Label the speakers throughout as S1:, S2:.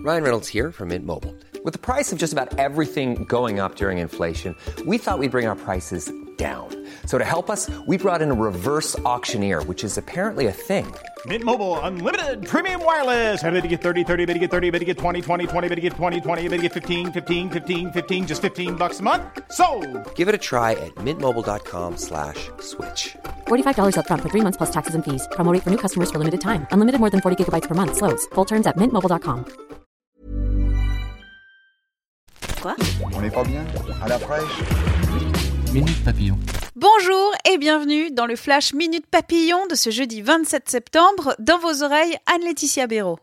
S1: Ryan Reynolds here from Mint Mobile. With the price of just about everything going up during inflation, we thought we'd bring our prices down. So to help us, we brought in a reverse auctioneer, which is apparently a thing.
S2: Mint Mobile Unlimited Premium Wireless. How to get 30, 30, bit to get 30, bit to get 20, 20, 20, bit to get 20, 20, bit to get 15, 15, 15, 15, just $15 a month? Sold!
S1: Give it a try at mintmobile.com/switch.
S3: $45 up front for 3 months plus taxes and fees. Promo rate for new customers for limited time. Unlimited more than 40 gigabytes per month. Slows full terms at mintmobile.com.
S4: Quoi ?
S5: On n'est pas bien ? À la fraîche ?
S6: Minute Papillon.
S4: Bonjour et bienvenue dans le Flash Minute Papillon de ce jeudi 27 septembre. Dans vos oreilles, Anne-Laetitia Béraud.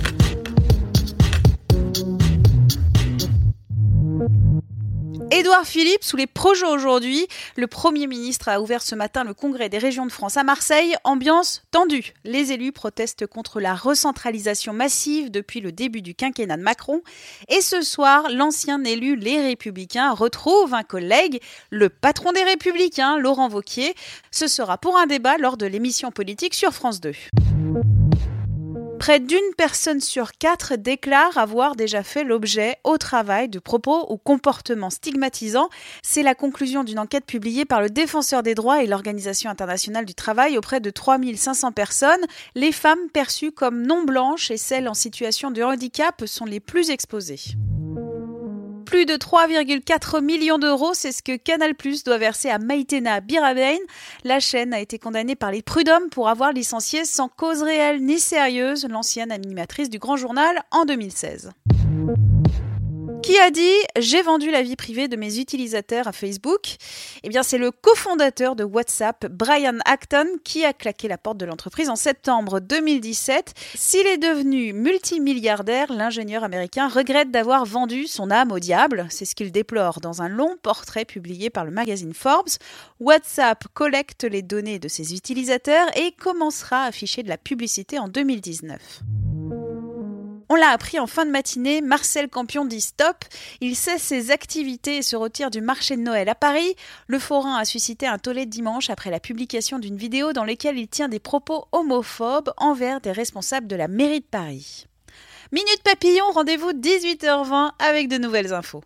S4: Édouard Philippe, sous les projets aujourd'hui, le Premier ministre a ouvert ce matin le Congrès des régions de France à Marseille. Ambiance tendue. Les élus protestent contre la recentralisation massive depuis le début du quinquennat de Macron. Et ce soir, l'ancien élu Les Républicains retrouve un collègue, le patron des Républicains, Laurent Wauquiez. Ce sera pour un débat lors de l'émission politique sur France 2. Près d'une personne sur 4 déclare avoir déjà fait l'objet au travail de propos ou comportements stigmatisants. C'est la conclusion d'une enquête publiée par le Défenseur des droits et l'Organisation internationale du travail auprès de 3500 personnes. Les femmes perçues comme non blanches et celles en situation de handicap sont les plus exposées. Plus de 3,4 millions d'euros, c'est ce que Canal+ doit verser à Maïtena Birabein. La chaîne a été condamnée par les prud'hommes pour avoir licencié sans cause réelle ni sérieuse l'ancienne animatrice du Grand Journal en 2016. Qui a dit « J'ai vendu la vie privée de mes utilisateurs à Facebook ?» Eh bien, c'est le cofondateur de WhatsApp, Brian Acton, qui a claqué la porte de l'entreprise en septembre 2017. S'il est devenu multimilliardaire, l'ingénieur américain regrette d'avoir vendu son âme au diable. C'est ce qu'il déplore dans un long portrait publié par le magazine Forbes. WhatsApp collecte les données de ses utilisateurs et commencera à afficher de la publicité en 2019. On l'a appris en fin de matinée, Marcel Campion dit stop. Il cesse ses activités et se retire du marché de Noël à Paris. Le forain a suscité un tollé dimanche après la publication d'une vidéo dans laquelle il tient des propos homophobes envers des responsables de la mairie de Paris. Minute Papillon, rendez-vous 18h20 avec de nouvelles infos.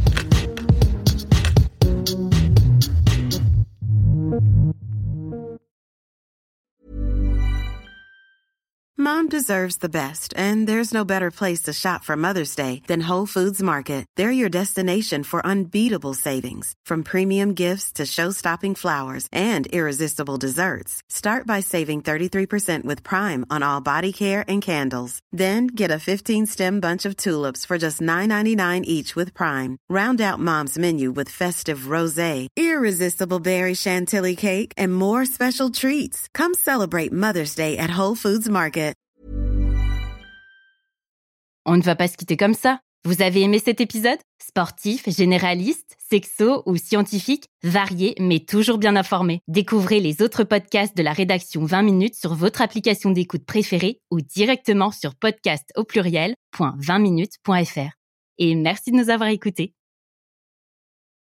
S7: Mom deserves the best, and there's no better place to shop for Mother's Day than Whole Foods Market. They're your destination for unbeatable savings, from premium gifts to show-stopping flowers and irresistible desserts. Start by saving 33% with Prime on all body care and candles. Then get a 15-stem bunch of tulips for just $9.99 each with Prime. Round out Mom's menu with festive rosé, irresistible berry chantilly cake, and more special treats. Come celebrate Mother's Day at Whole Foods Market.
S8: On ne va pas se quitter comme ça. Vous avez aimé cet épisode ? Sportif, généraliste, sexo ou scientifique, varié mais toujours bien informé. Découvrez les autres podcasts de la rédaction 20 minutes sur votre application d'écoute préférée ou directement sur podcast@20minutes.fr. Et merci de nous avoir écoutés.